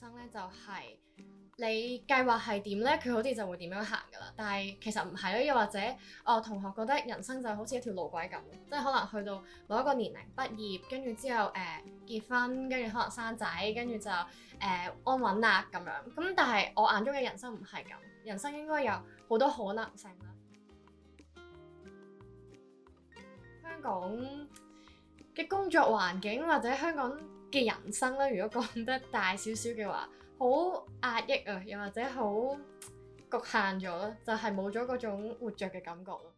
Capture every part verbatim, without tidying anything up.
生咧就係、是、你計劃係點咧，佢好似就會點樣行噶啦。但係其實唔係咯，又或者我、哦、同學覺得人生就好似一條路軌咁，即係可能去到某一個年齡畢業，跟住之後誒、呃、結婚，跟住可能生仔，跟住就誒、呃、安穩啦咁樣。咁但係我眼中嘅人生唔係咁，人生應該有好多可能性啦。香港嘅工作環境或者香港嘅人生咧，如果講得大少少嘅話，好壓抑啊，又或者好局限咗咯，就係冇咗嗰種活着嘅感覺咯。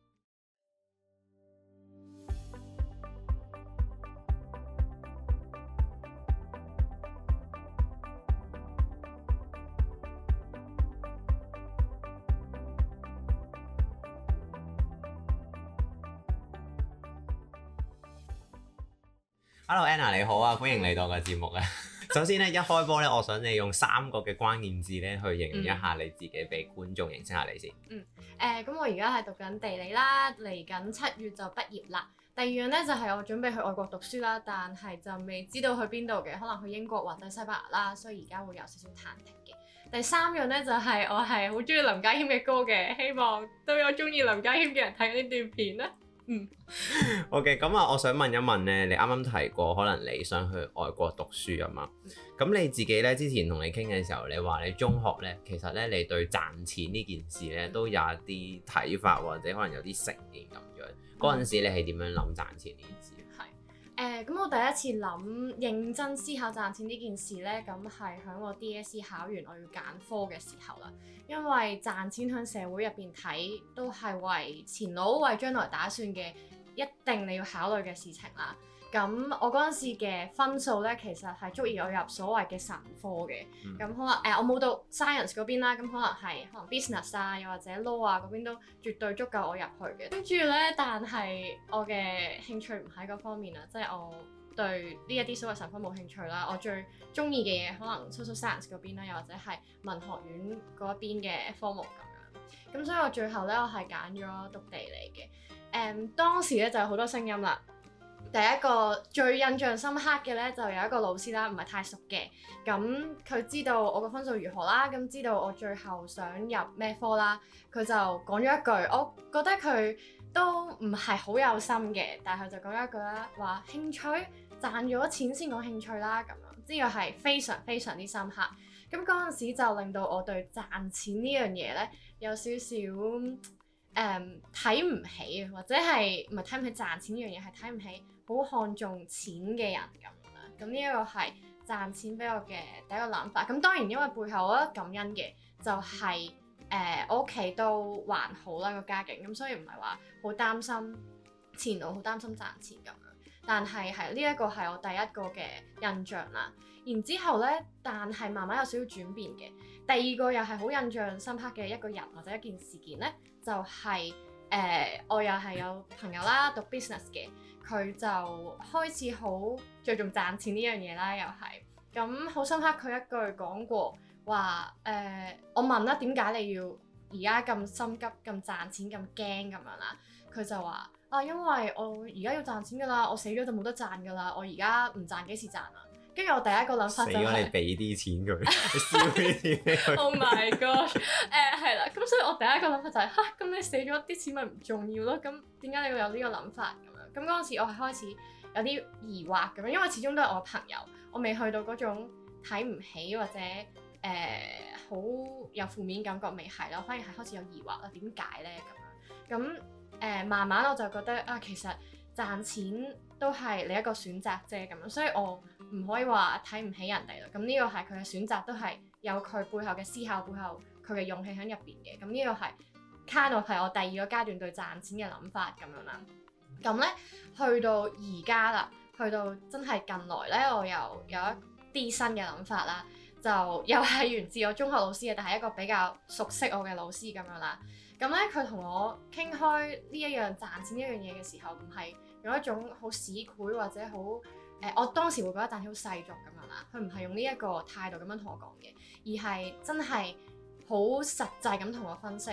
Hello Anna 你好啊，歡迎嚟到個節目啊。首先咧，一開波咧，我想你用三個嘅關鍵字咧去形容一下你自己，俾觀眾認識下你先。 嗯，誒，咁我而家係讀緊地理啦，嚟緊七月就畢業啦。第二樣咧就係我準備去外國讀書啦，但係就未知道去邊度嘅，可能去英國或者西班牙啦，所以而家會有少少忐忑嘅。第三樣咧就係我係好中意林家謙嘅歌嘅，希望都有中意林家謙嘅人睇呢段片啦。嗯 ，OK，咁啊，我想問一問咧，你啱啱提過可能你想去外國讀書啊嘛？咁、嗯、你自己咧之前同你傾嘅時候，你話你中學咧，其實咧你對賺錢呢件事咧都有一啲睇法，或者可能有啲成見咁樣。嗰陣、嗯、時你係點樣諗賺錢呢件事？ 係誒，咁、呃、我第一次諗認真思考賺錢呢件事咧，咁係喺我 D S E 考完我要揀科嘅時候啦。因為賺錢喺社會入邊睇都係為前路、為將來打算嘅，一定你要考慮嘅事情啦。咁我嗰陣時嘅分數咧，其實係足以我入所謂嘅神科嘅。咁、嗯、可能誒、呃、我冇讀 science 嗰邊啦，咁可能係可能 business 啊，又或者 law 啊嗰邊都絕對足夠我入去嘅。跟住咧，但係我嘅興趣唔喺嗰方面啦，即係我對呢一啲所謂神科冇興趣啦。我最中意嘅嘢可能 social science 嗰邊啦，又或者係文學院嗰一邊嘅科目咁樣。咁所以我最後咧，我係揀咗讀地理嘅。誒、嗯、當時咧就有好多聲音啦。第一個最印象深刻嘅咧，就有一個老師啦，唔係太熟嘅。咁佢知道我個分數如何啦，咁知道我最後想入咩科啦，佢就講咗一句，我覺得佢都唔係好有心嘅，但係佢就講咗一句啦，話興趣賺咗錢先講興趣啦，咁樣呢個係非常非常之深刻。咁嗰陣時就令到我對賺錢呢樣嘢咧有少少誒睇唔起，或者係唔係睇唔起賺錢呢樣嘢，係睇唔起好看重錢嘅人咁樣啦。咁呢一個係賺錢俾我嘅第一個諗法。咁當然因為背後我覺得感恩嘅就係、是、誒、呃、我屋企都還好啦個家境，咁所以唔係話好擔心前路，好擔心賺錢咁樣。但係係呢一個係我第一個嘅印象啦。然之後咧，但係慢慢有少少轉變嘅。第二個又係好印象深刻嘅一個人或者一件事件咧，就係、是、誒、呃、我又係有朋友啦，讀 business 嘅，佢就開始好着重賺錢呢樣嘢啦，又係咁好深刻。佢一句講過話誒、呃，我問啦，點解你要而家咁心急、咁賺錢、咁驚咁樣啦？佢就話啊，因為我而家要賺錢㗎啦，我死咗就冇得賺㗎啦，我而家唔賺幾時賺啊？跟住我第一個諗法就係、是、死咗你俾啲錢佢，你燒啲錢俾佢。Oh my god！誒係啦，咁所以我第一個諗法就係、是、嚇，咁、啊、你死咗啲錢咪唔重要咯？咁點解你會有呢個諗法咁樣？咁嗰陣時我係開始有啲疑惑咁樣，因為始終都係我朋友，我未去到嗰種睇唔起或者誒好、呃、有負面感覺未係咯，反而係開始有疑惑啦。點解咧咁樣？咁誒、呃、慢慢我就覺得啊，其實賺錢都係你一個選擇啫咁樣，所以我唔可以話睇唔起人哋咯。咁呢個係佢嘅選擇，都係有佢背後嘅思考，背後佢嘅勇氣喺入邊嘅。咁呢個係 kind of 係我第二個階段對賺錢嘅諗法咁樣啦。咁咧去到而家啦，去到真係近來咧，我又有一啲新嘅諗法啦，就又係源自我中學老師嘅，但係一個比較熟悉我嘅老師咁樣啦。咁咧佢同我傾開呢一樣賺錢呢樣嘢嘅時候，唔係用一種好市儈或者好誒、呃，我當時會覺得賺錢好世俗咁樣啦。佢唔係用呢一個態度咁樣同我講嘅，而係真係好實際咁同我分析。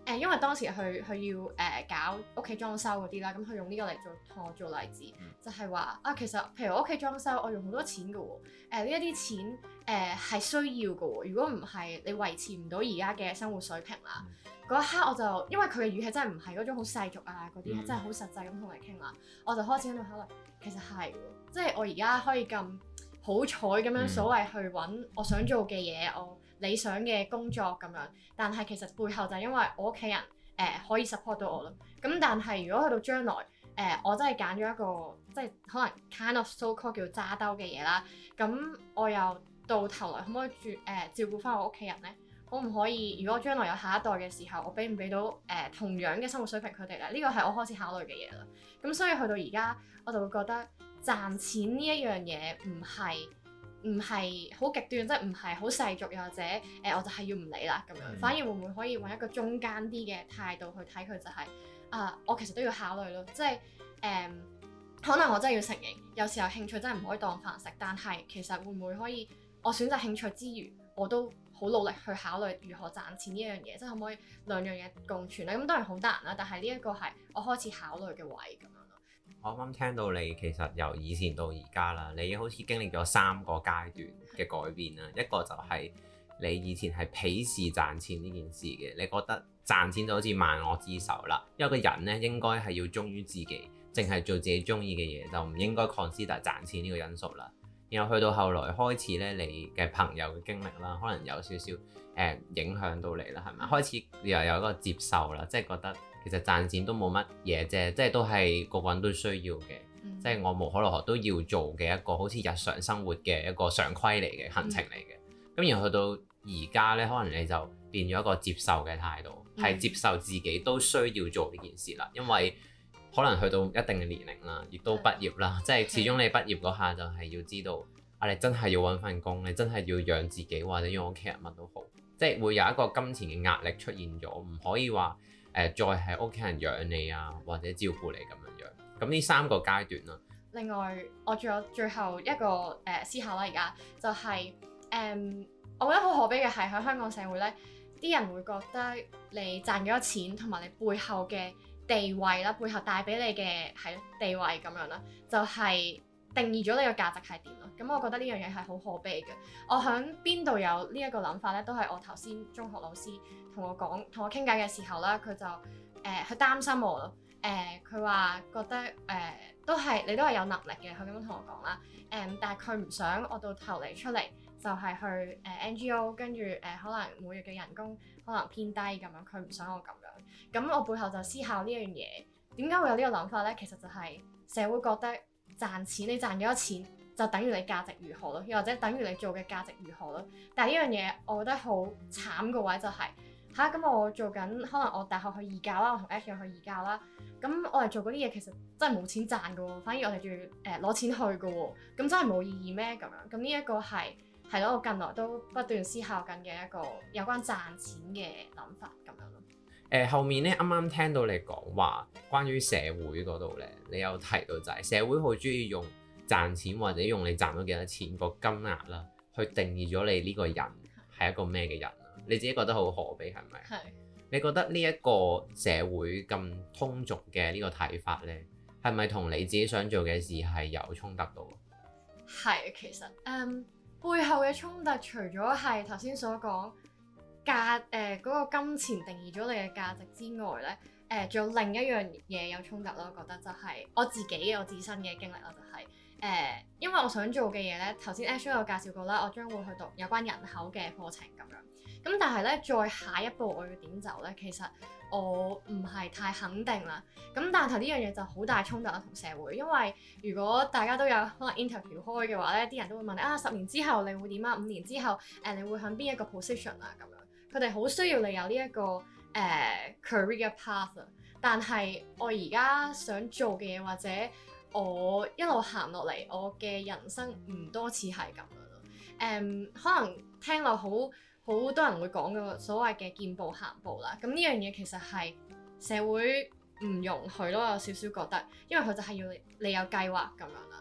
誒，因為當時佢佢要誒、呃、搞屋企裝修嗰啲啦，咁佢用呢個嚟做同我做例子，嗯、就係話啊，其實譬如我屋企裝修，我用好多錢㗎喎，誒呢一啲錢誒係、呃、需要㗎喎，如果唔係你維持唔到而家嘅生活水平啦。嗰、嗯、一刻我就因為佢嘅語氣真係唔係嗰種好世俗啊嗰啲，嗯、真係好實際咁同你傾啦，我就開始喺度考慮，其實係喎，即係我而家可以咁好彩咁樣所謂去揾我想做嘅嘢，我理想嘅工作咁樣，但係其實背後就係因為我屋企人誒、呃、可以 support 到我咯。咁但係如果去到將來誒、呃，我真係揀咗一個即係可能 kind of so called 叫揸兜嘅嘢啦，咁我又到頭來可唔可以住誒、呃、照顧翻我屋企人咧？可唔可以？如果將來有下一代嘅時候，我俾唔俾到誒、呃、同樣嘅生活水平佢哋咧？呢個係我開始考慮嘅嘢啦。咁所以去到而家，我就會覺得賺錢呢一樣嘢唔係。唔係好極端，即係唔係好世俗，又或者誒、呃，我就係要唔理啦咁樣。嗯、反而會唔會可以揾一個中間啲嘅態度去睇佢、就係，就係啊，我其實都要考慮咯。即係誒、呃，可能我真係要承認，有時候興趣真係唔可以當飯食。但係其實會唔會可以，我選擇興趣之餘，我都好努力去考慮如何賺錢呢一樣嘢，即係可唔可以兩樣嘢共存咧？咁當然好難啦，但係呢一個係我開始考慮嘅位咁樣。 我啱啱聽到你其實由以前到而家啦，你好似經歷咗三個階段嘅改變啦。一個就係你以前係鄙視賺錢呢件事嘅，你覺得賺錢就好似萬惡之首啦。因為個人咧應該係要忠於自己，淨係做自己中意嘅嘢，就唔應該 consider 賺錢呢個因素啦。然後去到後來開始咧，你嘅朋友嘅經歷啦，可能有少少誒、呃、影響到你啦，係咪？開始又有一個接受啦，即係覺得。其實賺錢都冇乜嘢啫，即係都係個個人都需要嘅，嗯、即係我無可奈何都要做嘅一個好似日常生活嘅一個常規嚟嘅行程嚟嘅。咁、嗯、然後去到而家咧，可能你就變咗一個接受嘅態度，係、嗯、接受自己都需要做呢件事啦。因為可能去到一定嘅年齡啦，亦都畢業啦，嗯、即係始終你畢業嗰下就係要知道，啊你真係要揾份工，你真係要養自己或者養屋企人乜都好，即係會有一個金錢嘅壓力出現咗，唔可以話。誒、呃，再係屋企人養你啊，或者照顧你咁樣樣，咁呢三個階段啦。另外， 我仲有最後一個誒、呃、思考啦，而家就係、是、誒、嗯，我覺得好可悲嘅係喺香港社會咧，啲人會覺得你賺幾多錢同埋你背後嘅地位啦，背後帶俾你嘅係地位咁樣啦，就係、是、定義咗你嘅價值係點咯。咁我覺得呢樣嘢係好可悲嘅。我喺邊度有呢一個諗法咧，都係我頭先中學老師同我講，同我傾偈嘅時候啦，佢就誒，佢、呃、擔心我咯。誒、呃，佢話覺得誒、呃，都係你都係有能力嘅，佢咁樣同我講啦。誒、呃，但係佢唔想我到頭嚟出嚟就係去誒、呃、N G O，跟住誒、呃、可能每月嘅人工可能偏低咁樣，佢唔想我咁樣。咁我背後就思考呢樣嘢，點解會有呢個諗法咧？其實就係社會覺得賺錢，你賺幾多錢就等於你價值如何咯，又或者等於你做嘅價值如何咯。但係呢樣嘢，我覺得好慘個位就係、是。嚇咁、啊、我做緊，可能我大學去義教啦，我同 Ash 去義教啦。咁我哋做嗰啲嘢其實真係冇錢賺㗎喎，反而我哋仲要誒攞錢去㗎喎。咁真係冇意義咩？咁樣咁呢一個係係咯，我近來都不斷思考緊嘅一個有關賺錢嘅諗法咁樣咯。誒、 呃、後面咧啱啱聽到你講話關於社會嗰度咧，你有提到就係社會好中意用賺錢或者用你賺到幾多錢個金額啦，去定義咗你呢個人係一個咩嘅人。你自己覺得好可悲係咪？係。是你覺得呢一個社會咁通俗嘅呢個睇法呢，係咪同你自己想做嘅事係有衝突到？ 係，其實誒、嗯、背後嘅衝突，除咗係頭先所講價誒嗰個金錢定義咗你嘅價值之外呢，誒、呃、仲有另一樣嘢有衝突咯。我覺得就係我自己我自身嘅經歷啦，就係、是、誒、呃、因為我想做嘅嘢呢，頭先 Ash 有介紹過啦，我將會去讀有關人口嘅課程咁樣。咁但係咧，再下一步我要點走咧？其實我唔係太肯定啦。咁但係呢樣嘢就好大衝突啦，同社會。因為如果大家都有可能 interview 開嘅話咧，啲人都會問你啊，十年之後你會點啊？五年之後誒、呃，你會向邊一個 position 啊？咁樣佢哋好需要你有呢、這、一個誒、呃、career path 啊。但係我而家想做嘅嘢，或者我一路行落嚟，我嘅人生唔多似係咁樣咯。誒、嗯，可能聽落好。好多人會講嘅所謂嘅見步行步啦，咁呢樣嘢其實係社會唔容許咯，有少少覺得，因為佢就係要你有計劃咁樣啦。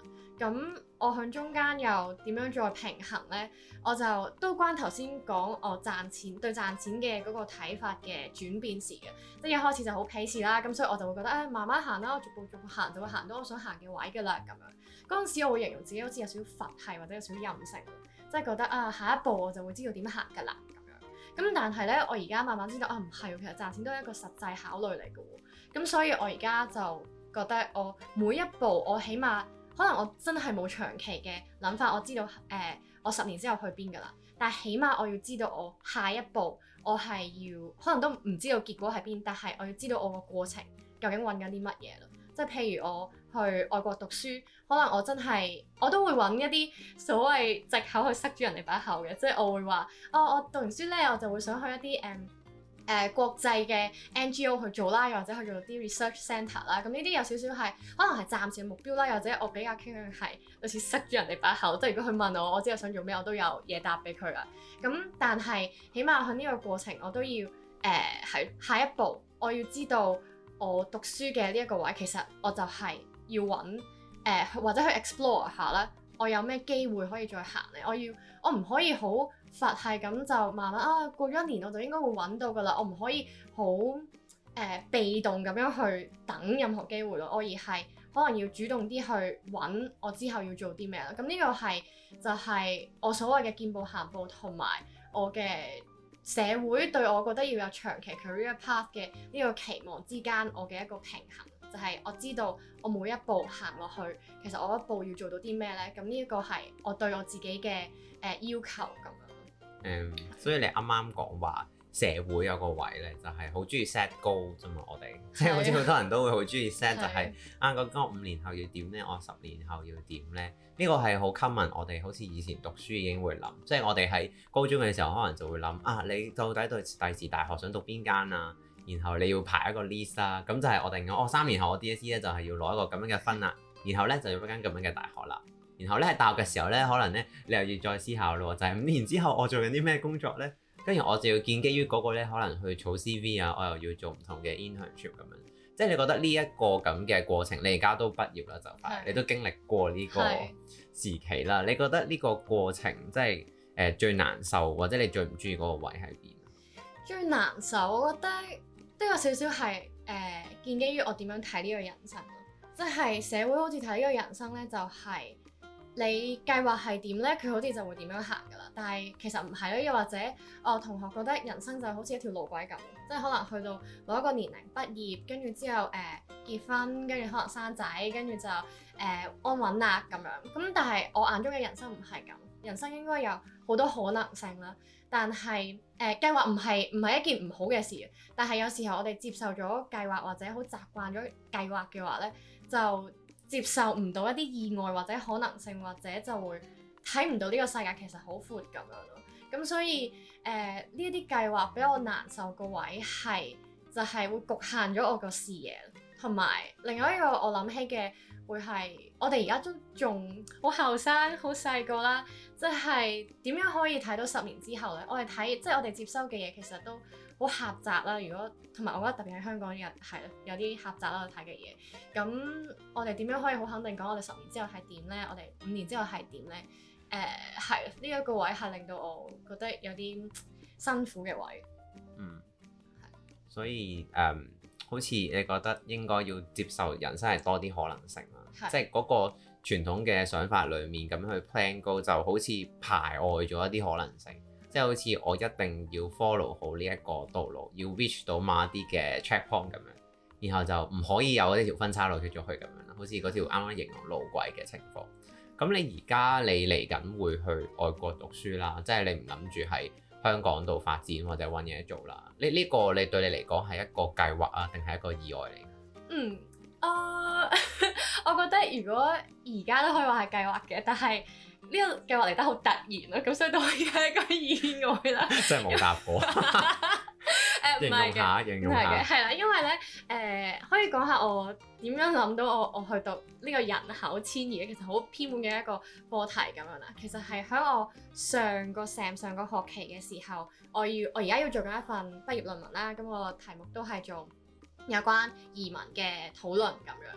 咁我喺中間又點樣再平衡呢？我就都關頭先講我賺錢對賺錢嘅嗰個睇法嘅轉變事嘅，即係一開始就好鄙視啦，咁所以我就會覺得誒、哎、慢慢行啦，我逐步逐步行就會行到我想行嘅位㗎啦咁樣。嗰陣時我會形容自己好似有少少佛系或者有少少任性，即係覺得啊下一步我就會知道點行㗎啦咁樣。咁但係咧我而家慢慢知道啊唔係，其實賺錢都係一個實際考慮嚟㗎喎。咁所以我而家就覺得我每一步我起碼。可能我真係冇長期嘅諗法，我知道誒、呃、我十年之後去邊㗎啦。但係起碼我要知道我下一步我係要，可能都唔知道結果係邊，但係我要知道我個過程究竟揾緊啲乜嘢咯。即係譬如我去外國讀書，可能我真係我都會揾一啲所謂藉口去塞住人哋把口嘅，即係我會話哦，我讀完書咧，我就會想去一啲誒。嗯誒、呃、國際嘅 N G O 去做啦，又或者去做啲 research centre 啦，咁呢啲有少少係可能係暫時嘅目標啦，又或者我比較傾向係類似塞住人哋把口，即係如果佢問我，我知道想做咩，我都有嘢答俾佢啦。咁但係起碼喺呢個過程，我都要誒係、呃、下一步，我要知道我讀書嘅呢一個位，其實我就係要揾誒、呃、或者去 explore 下啦。我有咩機會可以再行咧？我要我唔可以好佛系咁就慢慢啊過咗一年我就應該會揾到噶啦。我唔可以好誒、呃、被動咁樣去等任何機會咯。我而係可能要主動啲去揾我之後要做啲咩啦。咁呢個係就係、是、我所謂嘅見步行步同埋我嘅社會對我覺得要有長期 career path 嘅呢個期望之間，我嘅一個平衡。就係我知道我每一步行落去，其實我一步要做到啲咩呢？咁呢一個係我對我自己嘅誒、呃、要求咁樣。 嗯，所以你啱啱講話社會有個位呢，就係好中意 set goal 啫嘛。我哋即係好似好多人都會好中意 set，就係、是、啊，究竟我五年後要點呢？我十年後要點呢？呢、這個係好 common。我哋好似以前讀書已經會諗，即係我哋喺高中嘅時候可能就會諗啊，你到底對第時大學想讀邊間啊？然後你要排一個 list 啦，咁就係我定咗，哦三年後我 D S E 咧就係要攞一個咁樣嘅分啦，然後咧就要一間咁樣嘅大學啦，然後咧喺大學嘅時候咧，可能咧你又要再思考咯，就係、是、五年之後我做緊啲咩工作咧，跟住我就要建基於嗰個咧，可能去儲 C V 啊，我又要做唔同嘅 internship 咁樣，即係你覺得呢一個咁嘅過程，你而家都畢業啦就快，你都經歷過呢個時期啦，你覺得呢個過程即係誒最難受，或者你最唔中意嗰個位喺邊？ 最難受，我覺得。都有少少係誒建基於我點樣睇呢個人生咯，即係社會好似睇呢個人生咧，就係、是、你計劃係點咧，佢好似就會點樣行噶啦。但係其實唔係咯，又或者我同學覺得人生就好似一條路軌咁，即係可能去到某一個年齡畢業，跟住之後誒、呃、結婚，跟住可能生仔，跟住就誒、呃、安穩啦咁樣。咁但係我眼中嘅人生唔係咁，人生應該有好多可能性啦。但係誒、呃、計劃唔係唔係一件唔好嘅事，但係有時候我哋接受咗計劃或者好習慣咗計劃嘅話咧，就接受唔到一啲意外或者可能性，或者就會睇唔到呢個世界其實好闊咁樣咯。咁所以誒呢一啲計劃比較難受個位係就係、是、會局限咗我個視野，同埋另外一個我諗起嘅會係我哋而家都仲好後生好細個啦，即係點樣可以睇到十年之後呢？我哋睇即係我哋接收嘅嘢其實都好狹窄啦。如果同埋我覺得特別喺香港人係有啲狹窄啦睇嘅嘢。咁我哋點樣可以好肯定講我哋十年之後係點呢？我哋五年之後係點呢？誒係呢一個位係令到我覺得有啲辛苦嘅位。 嗯，係。所以誒。Um 好似你覺得應該要接受人生係多啲可能性啦，是即係嗰個傳統嘅想法裡面咁去 plan go 就好似排外咗一啲可能性，即係好似我一定要 follow 好呢一個道路，要 reach 到某一啲嘅 checkpoint 咁樣，然後就唔可以有呢條分岔路出咗去咁樣啦，好似嗰條啱啱形容路軌嘅情況。咁你而家你嚟緊會去外國讀書啦，即係你唔諗住喺香港度發展或者揾嘢做啦，呢、這、呢個你對你嚟講係一個計劃啊，定係一個意外嚟？ 嗯，啊、uh, 我覺得如果而家都可以話係計劃嘅，但係呢個計劃嚟得好突然咯，咁所以都可以係一個意外啦。真係冇答過。誒唔係嘅，唔係嘅，係啦，因為咧誒、呃、可以講下我點樣諗到我我去讀呢個人口遷移嘅，其實好偏門嘅一個課題咁樣啦。其實係喺我上個 sem 上個學期嘅時候，我要我而家要做緊一份畢業論文啦，咁個題目都係做有關移民嘅討論咁樣。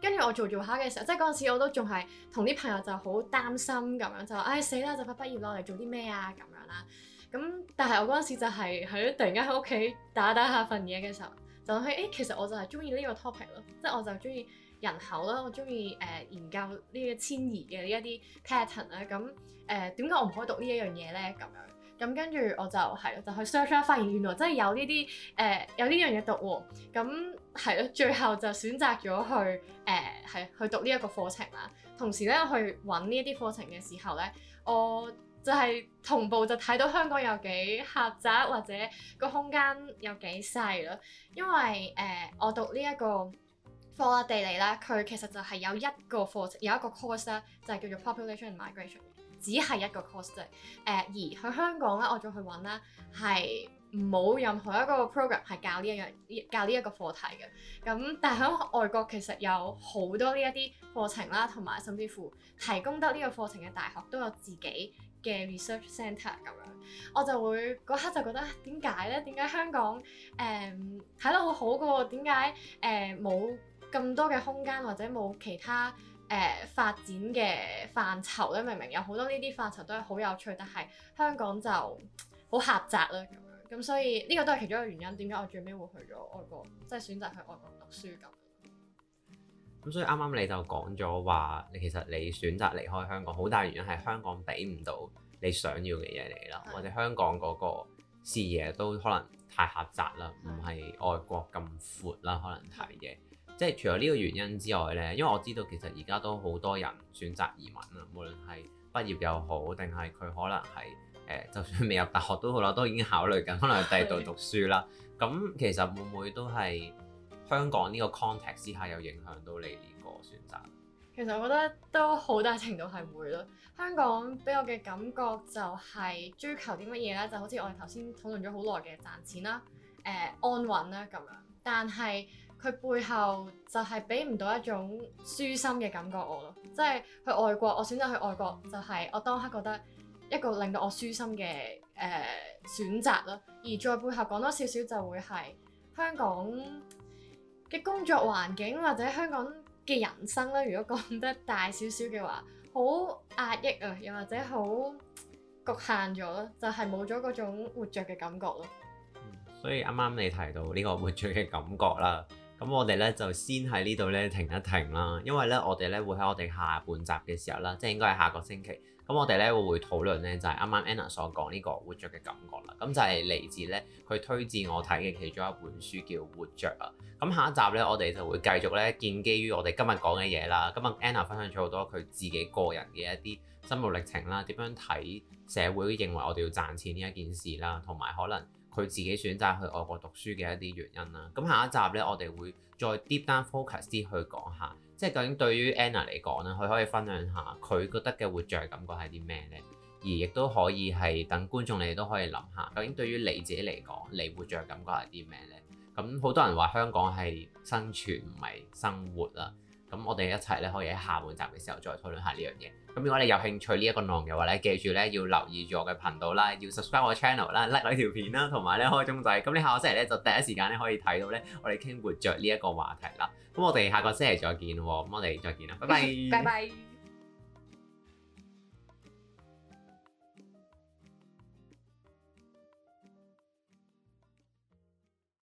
跟住我做做下嘅時候，即係嗰陣時我都仲係同啲朋友就好擔心咁樣，就話唉死啦，就快畢業落嚟做啲咩啊咁樣啦。咁但係我嗰陣時就係喺突然間喺屋企打打下份嘢嘅時候，就諗起誒其實我就係中意呢個 topic 咯，即係我就中意人口啦，我中意誒研究呢個遷移嘅呢一啲 pattern 啦。咁誒點解我唔可以讀呢一樣嘢咧？咁樣。咁跟住我就係咯，就去 search 啦，發現原來真係有呢啲誒有呢樣嘢讀喎。咁係咯，最後就選擇咗去誒係、呃、去讀呢一個課程啦。同時咧去揾呢一啲課程嘅時候咧，我就係同步就睇到香港有幾狹窄或者個空間有幾細咯。因為誒、呃、我讀呢一個科學地理啦，佢其實就係有一個課程有一個 course 咧，就係叫做 population and migration。只係一個 course 啫，誒、呃、而去香港咧，我再去揾啦，係冇任何一個 program 係教呢一樣教呢一個課題嘅。咁但係喺外國其實有好多呢一啲課程啦，同埋甚至乎提供得呢個課程嘅大學都有自己嘅 research centre 咁樣。我就會嗰刻就覺得點解咧？點解香港誒睇得好好嘅喎？點解誒冇咁多嘅空間或者冇其他？誒、呃、發展嘅範疇咧，明明有好多呢啲範疇都係好有趣，但係香港就好狹窄啦咁樣，咁所以呢個都係其中一個原因，點解我最尾會去咗外國，即係選擇去外國讀書咁。 咁所以啱啱你就講咗話，你其實你選擇離開香港，好大原因係香港俾唔到你想要嘅嘢嚟啦，的或者香港嗰個視野都可能太狹窄啦，唔係的外國咁闊啦，可能睇嘅。即係除咗呢個原因之外呢，因為我知道其實而家都好多人選擇移民啊，無論係畢業又好，定係佢可能係誒、呃，就算未入大學都好啦，都已經考慮緊可能去第二度讀書啦。咁其實會唔會都係香港呢個 context 之下有影響到你呢個選擇？ 其實我覺得都好大程度係會咯。香港俾我嘅感覺就係追求啲乜嘢呢？就好似我哋頭先討論咗好耐嘅賺錢啦、誒、呃、安穩啦咁樣，但係佢背後就係俾唔到一種舒心嘅感覺我咯，即係去外國，我選擇去外國就係我當刻覺得一個令到我舒心嘅誒、呃、選擇咯。而再背後講多少少就會係香港嘅工作環境或者香港嘅人生咧。如果講得大少少嘅話，好壓抑啊，又或者好局限咗咯，就係冇咗嗰種活著嘅感覺咯。 嗯，所以啱啱你提到呢個活著嘅感覺啦。咁我哋咧就先喺呢度咧停一停啦，因為咧我哋咧會喺我哋下半集嘅時候啦，即係應該係下個星期，咁我哋咧會會討論咧就係啱啱 Anna 所講呢個活著嘅感覺啦。咁就係嚟自咧佢推薦我睇嘅其中一本書叫《活著》啊。咁下一集咧我哋就會繼續咧建基於我哋今日講嘅嘢啦。今日 Anna 分享咗好多佢自己個人嘅一啲心路歷程啦，點樣睇社會認為我哋要賺錢呢一件事啦，同埋可能佢自己選擇去外國讀書嘅一啲原因啦。咁下一集呢，我哋會再 deep down focus 啲去講下，即係究竟對於 Anna 嚟講呢，佢可以分享下佢覺得嘅活著感覺係啲咩呢？而亦都可以係等觀眾你哋都可以諗下，究竟對於你自己嚟講，你活著感覺係啲咩呢？咁好多人話香港係生存唔係生活啦。咁我哋一齊咧可以喺下半集嘅時候再討論下呢樣嘢。咁如果你有興趣呢一個內容嘅話咧，記住咧要留意住我嘅頻道啦，要 subscribe 我嘅 channel 啦，like 我條片啦，同埋咧開鐘仔。咁你下個星期咧就第一時間咧可以睇到咧我哋傾活著呢一個話題啦。咁我哋下個星期再見喎。咁我哋再見啦，拜拜。拜拜。